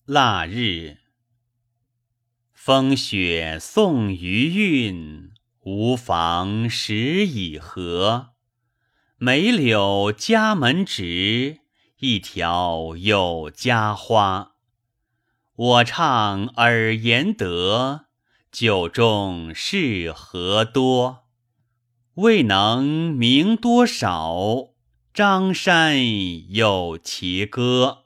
腊日，风雪送余韵，无妨时已合。梅柳家门直，一条有家花。我唱尔言得，酒中是何多？未能名多少，张山有其歌。